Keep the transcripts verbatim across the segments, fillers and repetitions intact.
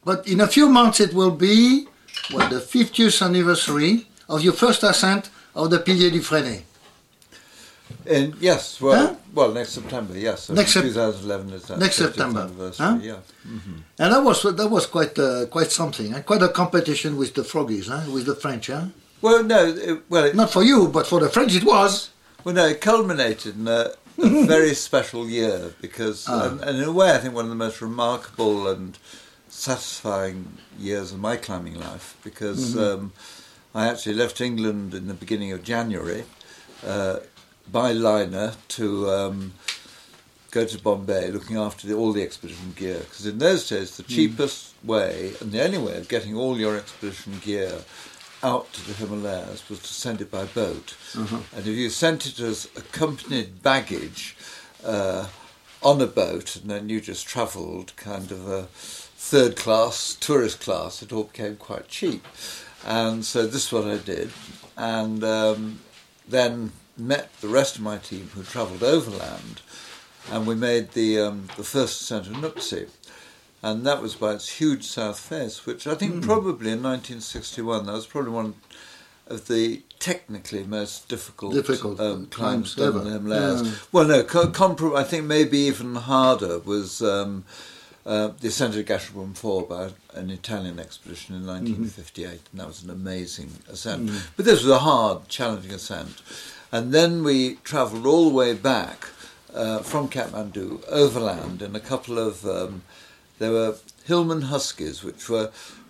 but in a few months it will be what, the fiftieth anniversary of your first ascent of the Pilier du Fresnay. And yes, well, huh? well, next September, yes. So next twenty eleven is that next September, huh? Yeah. Mm-hmm. And that was that was quite uh, quite something, eh? Quite a competition with the Froggies, eh? With the French, huh? Well, no, it, well, it, not for you, but for the French it was. Well, no, it culminated in a, a very special year because, ah. and, and in a way, I think one of the most remarkable and satisfying years of my climbing life because mm-hmm. um, I actually left England in the beginning of January. Uh, by liner to um, go to Bombay looking after the, all the expedition gear, because in those days the cheapest mm. way and the only way of getting all your expedition gear out to the Himalayas was to send it by boat. Uh-huh. And if you sent it as accompanied baggage uh, on a boat and then you just travelled kind of a third class, tourist class, it all became quite cheap. And so this is what I did, and um, then met the rest of my team who travelled overland, and we made the um, the first ascent of Nuptse, and that was by its huge south face, which I think mm. probably in nineteen sixty-one that was probably one of the technically most difficult, difficult um, climbs ever. done in the Himalayas. Yeah. Well, no, co- compar- I think maybe even harder was um, uh, the ascent of Gasherbrum four by an Italian expedition in nineteen fifty-eight, mm-hmm. and that was an amazing ascent. Mm. But this was a hard, challenging ascent. And then we travelled all the way back uh, from Kathmandu, overland, in a couple of, um, there were Hillman Huskies, which were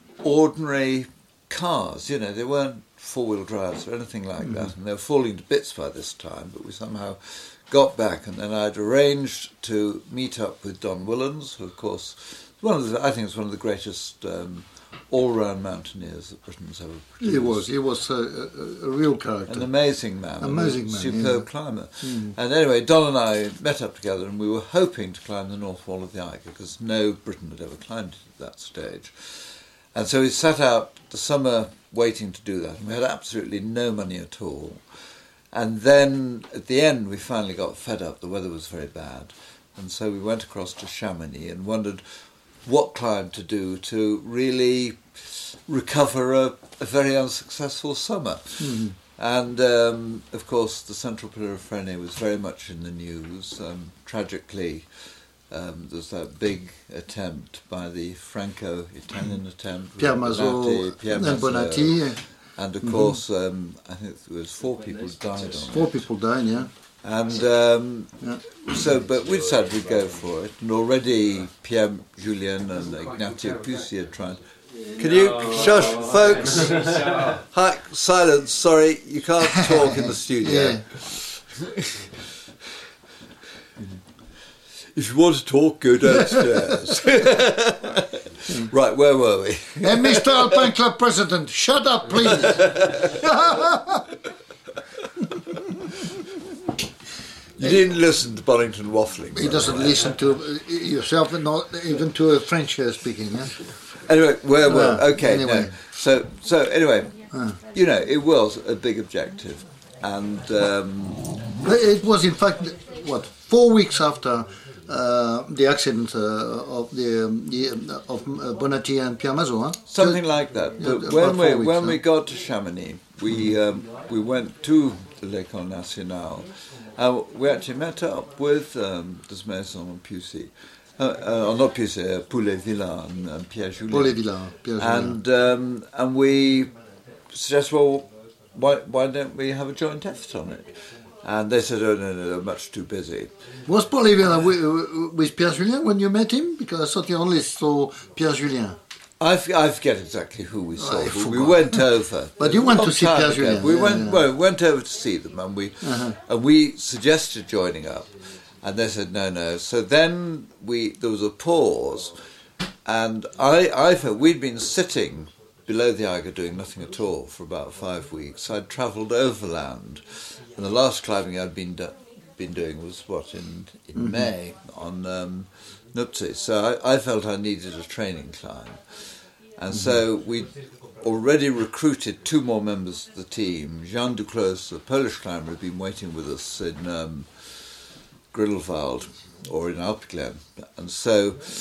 ordinary cars, you know, they weren't four-wheel drives or anything like mm-hmm. that, and they were falling to bits by this time, but we somehow got back, and then I'd arranged to meet up with Don Willans, who of course, one of the, I think is one of the greatest um, all-round mountaineers that Britain's ever produced. He was, he was a, a, a real character. An amazing man. Amazing man, superb yeah. climber. Mm. And anyway, Don and I met up together and we were hoping to climb the North Wall of the Eiger because no Briton had ever climbed it at that stage. And so we sat out the summer waiting to do that, and we had absolutely no money at all. And then at the end we finally got fed up, the weather was very bad, and so we went across to Chamonix and wondered what climb to do to really recover a, a very unsuccessful summer. Mm-hmm. And, um, of course, the Central Pilier of Fresnay was very much in the news. Um, tragically, um, there was that big attempt by the Franco-Italian attempt. Pierre Mazot, Pierre and Mazot, Bonatti. And, of course, um, I think there was four people died on it. Four people died, yeah. And um, yeah. so, but we decided we'd go for it. And already Pierre Julien and Ignacio Pucci had tried. Can you shush, folks? Hi, silence. Sorry, you can't talk in the studio. Yeah. If you want to talk, go downstairs. Right, where were we? Hey, Mister Alpine Club President, shut up, please. You didn't listen to Bonington waffling. He doesn't listen to uh, yourself, and not even to a French uh, speaking. Yeah? Anyway, where were uh, okay? Anyway. No. So, so anyway, uh. you know, it was a big objective, and um, it was in fact what four weeks after uh, the accident uh, of the, um, the uh, of uh, Bonatti and Pierre Mazot. Huh? Something like that. But yeah, when we weeks, when huh? we got to Chamonix, we um, we went to the L'École Nationale. Uh, we actually met up with um, Desmaison and Pucci, uh, uh, not Pucci, uh, Poulet-Villa and, and Pierre Julien. Poulet-Villa, Pierre Julien. And um, and we suggested, well, why why don't we have a joint effort on it? And they said, oh no, no, they're much too busy. Was Poulet-Villa with, with Pierre Julien when you met him? Because I thought you only saw Pierre Julien. I, f- I forget exactly who we saw, I but we forgot. went over. But you went to see Pierre ago. Julien. We yeah, went yeah. well, went over to see them, and we Uh-huh. and we suggested joining up, and they said no, no. So then we there was a pause, and I I felt we'd been sitting below the Eiger doing nothing at all for about five weeks. I'd travelled overland, and the last climbing I'd been do- been doing was what in in Mm-hmm. May on um, Nuptse. So I, I felt I needed a training climb. And so we already recruited two more members of the team. Jean Duclos, the Polish climber, had been waiting with us in um, Grindelwald or in Alpenglen. And so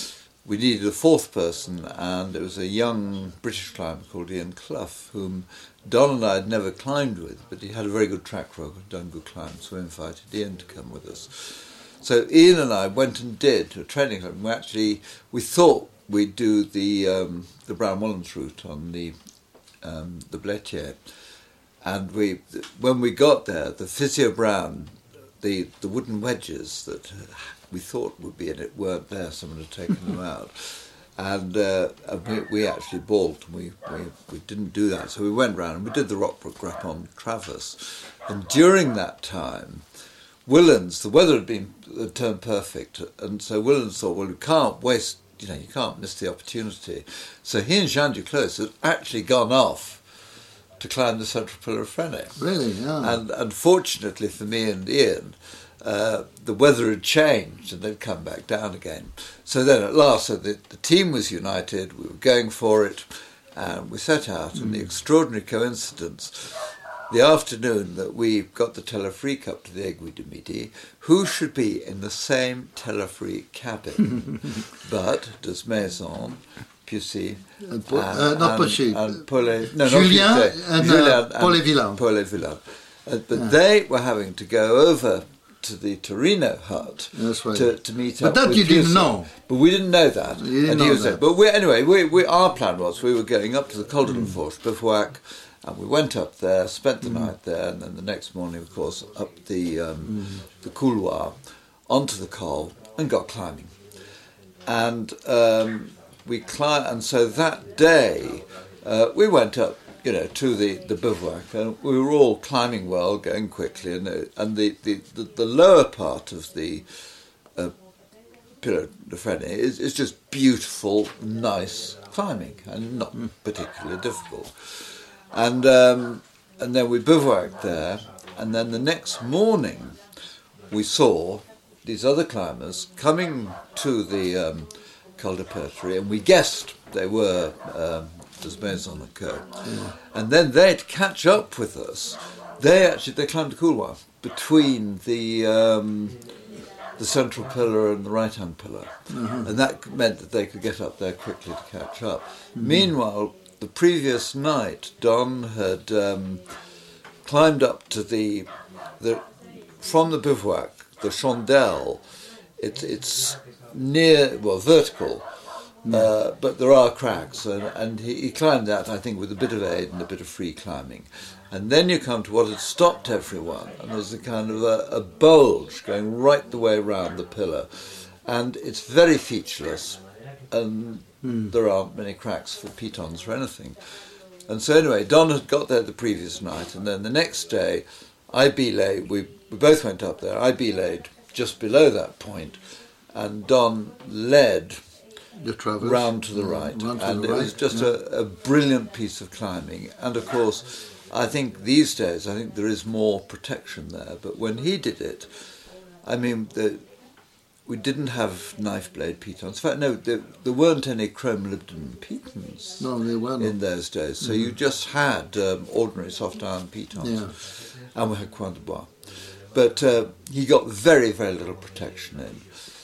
we needed a fourth person, and it was a young British climber called Ian Clough, whom Don and I had never climbed with, but he had a very good track record, done good climbs, so we invited Ian to come with us. So Ian and I went and did a training club. We actually, we thought we'd do the um, the Brown Mullins route on the um, the Blétier, and we when we got there, the Physio Brown, the the wooden wedges that we thought would be in it weren't there. Someone had taken them out. And, uh, and we, we actually balked, and we, we, we didn't do that. So we went round and we did the Rockbrook Grappon Traverse. And during that time, Whillans, the weather had been had turned perfect, and so Whillans thought, well, you can't waste, you know, you can't miss the opportunity. So he and Jean Duclos had actually gone off to climb the Central Pillar of Fresnay. Really, yeah. And unfortunately for me and Ian, Uh, the weather had changed and they'd come back down again. So then at last, so the, the team was united, we were going for it, and we set out, mm. and the extraordinary coincidence, the afternoon that we got the Telefrique up to the Aiguille du Midi, who should be in the same Telefrique cabin but Des Maisons, Pussy, uh, uh, not Pussy, and Paulet, no, Julien, not and, Julien uh, Paul Villain. Paul Villain. Uh, but yeah. They were having to go over to the Torino hut right. to, to meet but up that with you didn't Pussy. know. But we didn't know that. You didn't and know he was that. there. But we, anyway, we, we, our plan was we were going up to the Col de la Fourche, bivouac, and we went up there, spent the mm. night there, and then the next morning, of course, up the um, mm. the couloir, onto the col, and got climbing. And um, we climbed, and so that day, uh, we went up, you know, to the, the bivouac, and we were all climbing well, going quickly, and uh, and the, the, the, the lower part of the uh, Pillar de Fresnay is, is just beautiful, nice climbing, and not mm. particularly difficult. And um, and then we bivouacked there, and then the next morning we saw these other climbers coming to the um, Col de Pertry, and we guessed they were um, Des Maisons and Co. Yeah. And then they'd catch up with us. They actually they climbed the couloir between the um, the central pillar and the right-hand pillar, uh-huh. and that meant that they could get up there quickly to catch up. Mm-hmm. Meanwhile, the previous night, Don had um, climbed up to the the from the bivouac, the Chandelle. It, it's near, well, vertical. Mm. Uh, but there are cracks, and, and he, he climbed that, I think, with a bit of aid and a bit of free climbing. And then you come to what had stopped everyone, and there's a kind of a, a bulge going right the way around the pillar. And it's very featureless, and mm. there aren't many cracks for pitons or anything. And so anyway, Don had got there the previous night, and then the next day, I belayed, we, we both went up there, I belayed just below that point, and Don led the traverse, round to the right, to and the it right, was just yeah. a, a brilliant piece of climbing. And of course, I think these days, I think there is more protection there. But when he did it, I mean, the, we didn't have knife blade pitons. In fact, no, there, there weren't any chrome molybdenum pitons no, they weren't. in those days. So mm-hmm. you just had um, ordinary soft iron pitons, yeah. and we had coin de bois. But uh, he got very, very little protection in.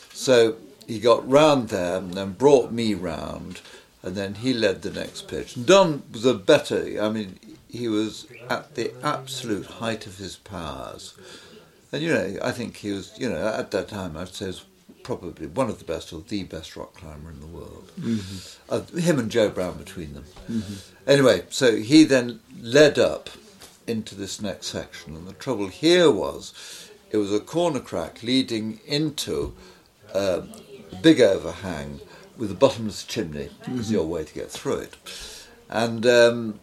So he got round there and then brought me round, and then he led the next pitch. And Don was a better, I mean, he was at the absolute height of his powers. And, you know, I think he was, you know, at that time, I'd say, was probably one of the best or the best rock climber in the world. Mm-hmm. Uh, him and Joe Brown between them. Mm-hmm. Anyway, so he then led up into this next section, and the trouble here was it was a corner crack leading into uh, a big overhang with a bottomless chimney, mm-hmm. is your way to get through it. And um,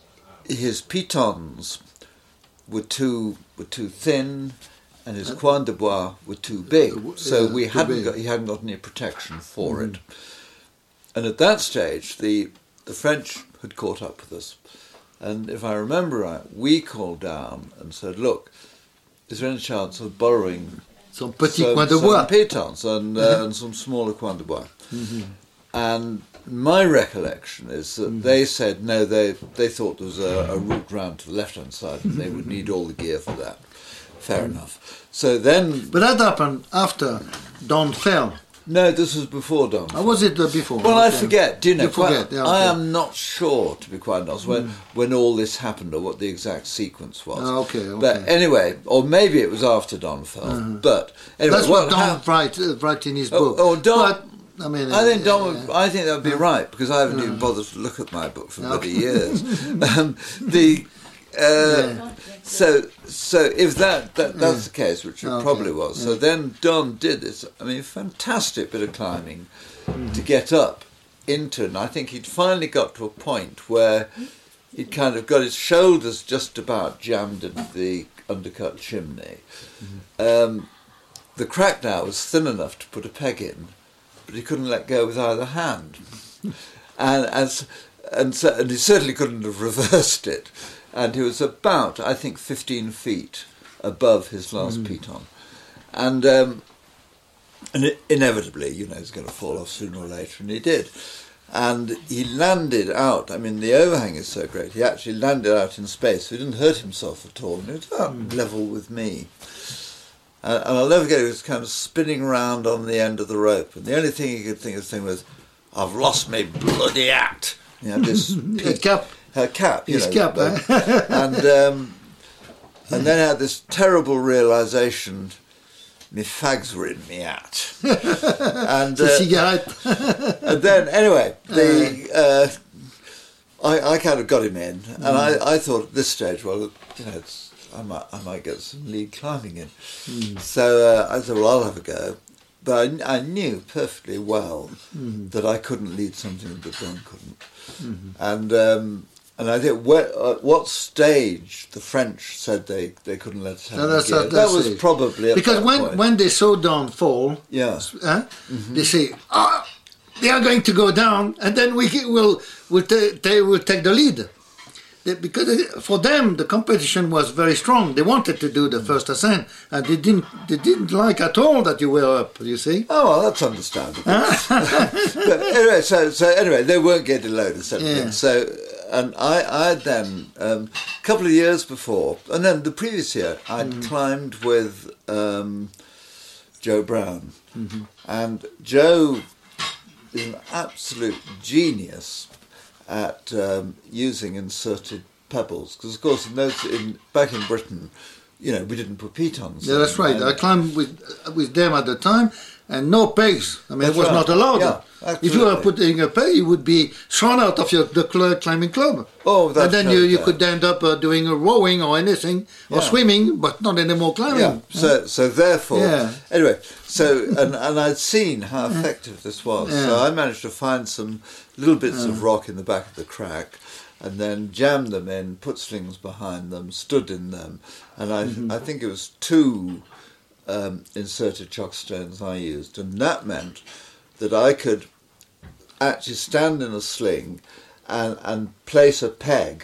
his pitons were too were too thin, and his coin de bois were too big, so we hadn't got he hadn't got any protection for mm-hmm. it. And at that stage, the the French had caught up with us. And if I remember right, we called down and said, look, is there any chance of borrowing some petit some, coin de some bois pitons and, uh, and some smaller coin de bois? Mm-hmm. And my recollection is that mm-hmm. they said, no, they they thought there was a, a route round to the left-hand side and they would need all the gear for that. Fair mm-hmm. enough. So then... But that happened after Don fell. No, this was before Don. Or was it uh, before? Well, okay. I forget. Do you know? You forget, quite, yeah, I okay. am not sure, to be quite honest, when Mm. when all this happened or what the exact sequence was. Ah, okay, okay. But anyway, or maybe it was after Don fell. Uh-huh. But anyway, That's what Don hap- writes uh, write in his Oh, book. oh, Don- But, I mean, I think uh, Don. uh, Would, I think that would be right because I haven't even bothered to look at my book for bloody years. um, the uh, Yeah. so so if that, that that's Yeah. the case, which it Okay. probably was. So then Don did this. I mean, fantastic bit of climbing Mm-hmm. to get up into, and I think he'd finally got to a point where he'd kind of got his shoulders just about jammed into the undercut chimney. Mm-hmm. Um, the crack now was thin enough to put a peg in, but he couldn't let go with either hand, and as and so and he certainly couldn't have reversed it, and he was about I think fifteen feet above his last piton, and um, and it, inevitably, you know, he's going to fall off sooner or later, and he did. And he landed out. I mean, the overhang is so great. He actually landed out in space. So he didn't hurt himself at all. And he was about Mm. level with me. Uh, and I'll never get it. He was kind of spinning around on the end of the rope. And the only thing he could think of saying was, "I've lost my bloody hat." You know, this A piece- cap. her cap. You His know, cap, the- eh? and um, and then I had this terrible realisation. My fags were in me hat. and The uh, cigarette. and then anyway, the uh, I, I kind of got him in, and I, I thought at this stage, well, you know, it's, I might I might get some lead climbing in. So uh, I thought, well, I'll have a go. But I, I knew perfectly well that I couldn't lead something that Don couldn't. And um, and I think where, at what stage the French said they, they couldn't let us have No, it that's again. at That that was stage. probably at Because that when, point. when they saw Don fall, Yeah. huh, they say, "Ah, they are going to go down, and then we will will ta- they will take the lead." They, because it- for them the competition was very strong. They wanted to do the first ascent, and they didn't they didn't like at all that you were up. You see. Oh well, that's understandable. But anyway, so so anyway, they weren't getting loaded, sort of Yeah. thing. So, and I I then um, a couple of years before, and then the previous year, I'd climbed with um, Joe Brown, and Joe is an absolute genius at um, using inserted pebbles because, of course, in those in back in Britain, you know, we didn't put pitons. Yeah, that's right. And- I climbed with with them at the time, and no pegs. I mean, That's it was right. not allowed. Yeah, If you were absolutely. putting a peg, you would be thrown out of your the cl- climbing club. Oh, that's and then you, right, you yeah. could end up uh, doing a rowing or anything, or Yeah. swimming, but not any more climbing. Yeah. So so therefore, Yeah. anyway, so and and I'd seen how effective this was. So Yeah. I managed to find some little bits of rock in the back of the crack, and then jammed them in, put slings behind them, stood in them, and I I think it was two um, inserted chock stones I used, and that meant that I could actually stand in a sling and and place a peg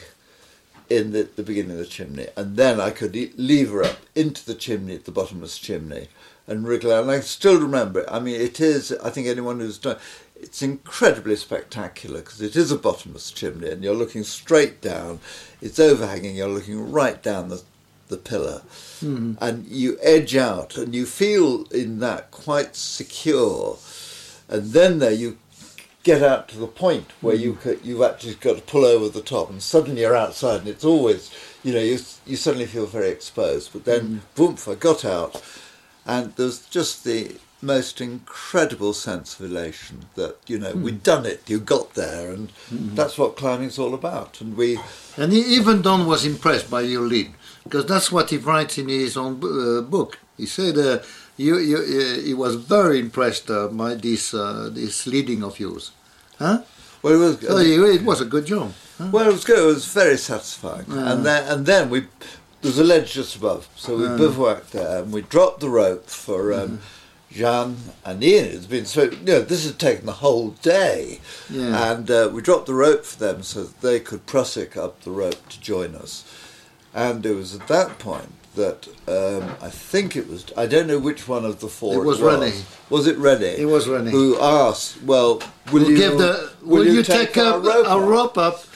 in the, the beginning of the chimney, and then I could e- lever up into the chimney, at the bottomless chimney, and wriggle out. And I still remember it. I mean, it is, I think anyone who's done, it's incredibly spectacular because it is a bottomless chimney and you're looking straight down, it's overhanging, you're looking right down the, the pillar, Mm-hmm. and you edge out and you feel in that quite secure, and then there you get out to the point where you could, you've actually got to pull over the top, and suddenly you're outside, and it's always, you know, you you suddenly feel very exposed. But then, boom! I got out, and there's just the most incredible sense of elation that, you know, we'd done it, you got there, and that's what climbing's all about. And we, And he, even Don was impressed by your lead, because that's what he writes in his own uh, book. He said uh, you, you, uh, he was very impressed uh, by this uh, this leading of yours. Huh? well, it was, So you- it was a good job. Huh? well, it was good. It was very satisfying. And then, and then we, there's a ledge just above, so we bivouacked there, and we dropped the rope for um, Jean and Ian. It's been so, you know, this had taken the whole day, Yeah. and uh, we dropped the rope for them so that they could prusik up the rope to join us. And it was at that point that um, I think it was, I don't know which one of the four It was René. Was it René? It was René. Who asked, well, will We'll you, give the, will, you take, our up a rope up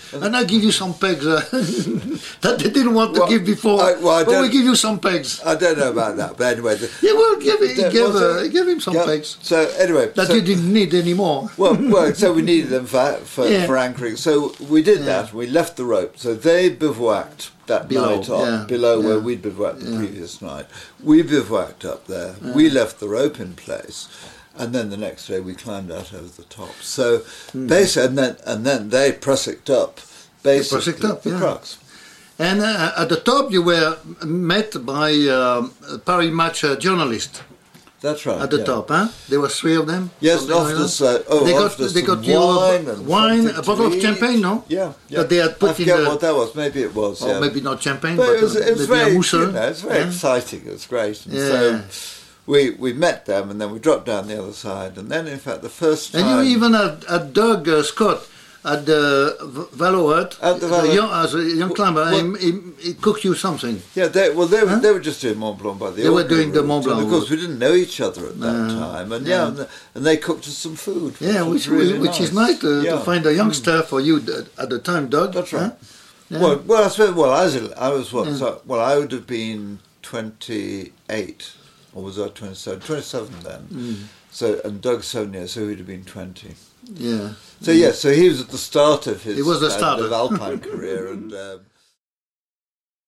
and I give you some pegs uh, that they didn't want to well, give before. I, well, I but we give you some pegs. I don't know about that, but anyway. The, yeah, well, give it, the, give, well, uh, give him some yeah, pegs. So anyway, that so, you didn't need anymore. well, well, so we needed them for for, yeah. for anchoring. So we did yeah. that. We left the rope. So they bivouacked that below, night up yeah, below yeah. where we'd bivouacked the yeah. previous night. We bivouacked up there. Yeah. We left the rope in place. And then the next day we climbed out over the top. So mm. basically, and then and then they prussiked up, basically prussiked up, the yeah. crux. And uh, at the top, you were met by um, Paris Match uh, journalists. That's right. At the yeah. top, huh? There were three of them. Yes, offered us. Uh, oh, they got offered us they got you wine, a, and wine, a bottle of eat. champagne, no? Yeah, yeah. That they had put I forget in the, what that was. Maybe it was. or yeah. maybe not champagne, but, but, it was, uh, it was maybe very, a mousse. you know, it's very yeah. exciting. It was great. And yeah. so we we met them, and then we dropped down the other side, and then in fact the first time. And you even had, had Doug uh, Scott at the Valo Hut, At the Valo- young, as a young climber, well, he, he, he cooked you something. Yeah, they, well, they, were Huh? they were just doing Mont Blanc by the They were ordinary doing the route, Mont Blanc and of course route. we didn't know each other at that No, time, and yeah. yeah, and, the, and they cooked us some food. Yeah, was which really which nice. is nice to, yeah. to find a youngster for you at the time, Doug. That's right. Huh? Yeah. Well, well, I suppose, well, I was, I was what? Yeah. So, well, I would have been twenty-eight, or was I twenty-seven? twenty-seven then. Mm. So, and Doug Sonia, so he'd have been twenty. Yeah. So, yes, yeah, so he was at the start of his He was the kind starter. of alpine career, and um,